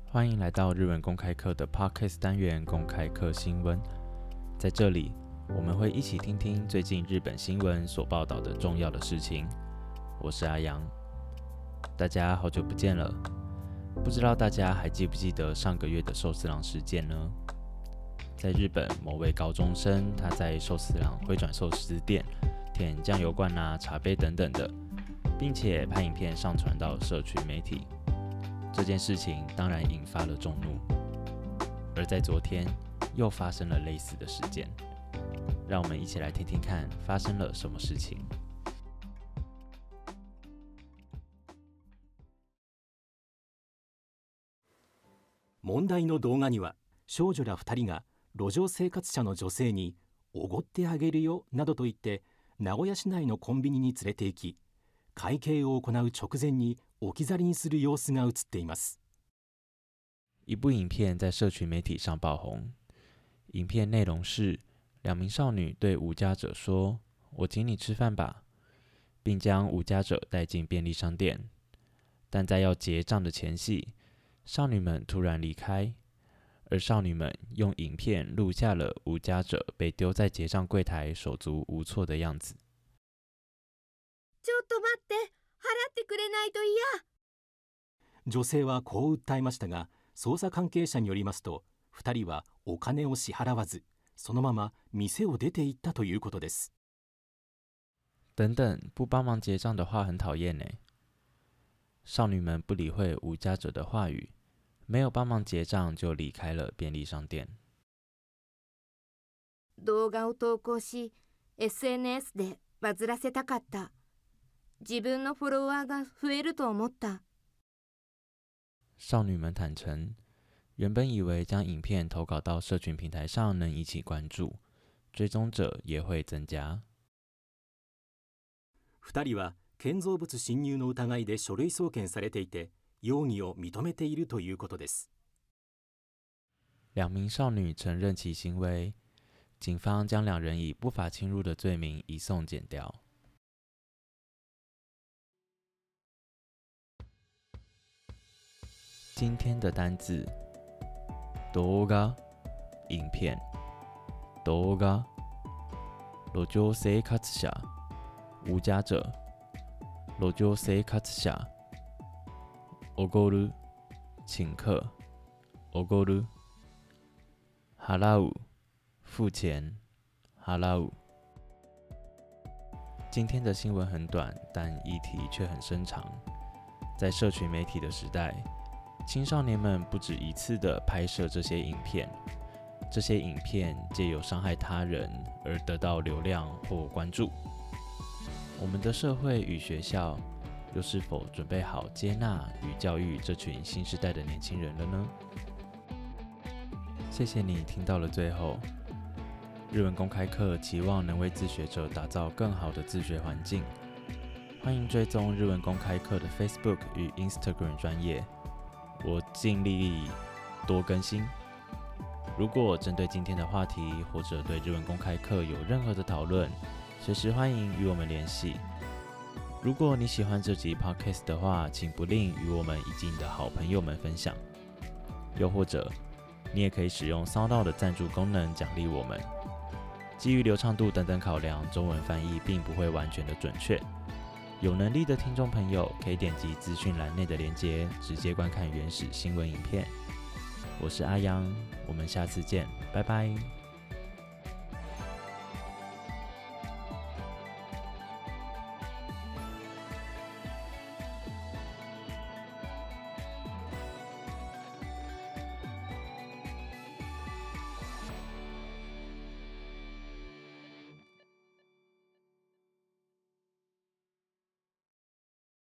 欢迎来到日文公开课的 Podcast 单元公开课新闻。在这里，我们会一起听听最近日本新闻所报道的重要的事情。我是阿阳，大家好久不见了。不知道大家还记不记得上个月的寿司郎事件呢？在日本，某位高中生他在寿司郎回转寿司店舔酱油罐茶杯等等的，并且拍影片上传到社群媒体。这件事情当然引发了众怒，而在昨天又发生了类似的事件。让我们一起来听听看发生了什么事情。 問題の動画には少女ら2人が路上生活者の女性におごってあげるよなどと言って名古屋市内のコンビニに連れて行き、会計を行う直前に置き去りにする様子が映っています。 一部影片在社群媒体上爆红，影片内容是两名少女对无家者说：“我请你吃饭吧”，并将无家者带进便利商店。但在要结账的前夕，少女们突然离开，而少女们用影片录下了无家者被丢在结账柜台手足无措的样子。 ちょっと待って、払ってくれないと嫌。 女性はこう訴えましたが、捜査関係者によりますと、2人はお金を支払わず、そのまま店を出て行ったということです。 等等，不帮忙结账的话很讨厌呢。少女们不理会无家者的话语，没有帮忙结账就离开了便利商店。 動画を投稿し、SNS でバズらせたかった。自分のフォロワーが増えると思った。 少女们坦诚，原本以为将影片投稿到社群平台上能引起关注，追踪者也会增加。 2人は建造物侵入の疑いで書類送検されていて、容疑を認めているということです。 两名少女承认其行为，警方将两人以不法侵入的罪名移送检调。今天的单字：動画、影片、動画、路上生活者、無家者、路上生活者、おごる、请客、おごる、払う、付钱、払う。今天的新闻很短，但议题却很深长。在社群媒体的时代，青少年们不止一次地拍摄这些影片，这些影片借由伤害他人而得到流量或关注。我们的社会与学校又是否准备好接纳与教育这群新时代的年轻人了呢？谢谢你听到了最后。日文公开课期望能为自学者打造更好的自学环境。欢迎追踪日文公开课的 Facebook 与 Instagram 专页，我尽力多更新。如果针对今天的话题或者对日文公开课有任何的讨论，随时欢迎与我们联系。如果你喜欢这集 Podcast 的话，请不吝与我们以及你的好朋友们分享。又或者，你也可以使用 SoundOut 的赞助功能奖励我们。基于流畅度等等考量，中文翻译并不会完全的准确。有能力的听众朋友可以点击资讯栏内的连结，直接观看原始新闻影片。我是阿阳，我们下次见，拜拜。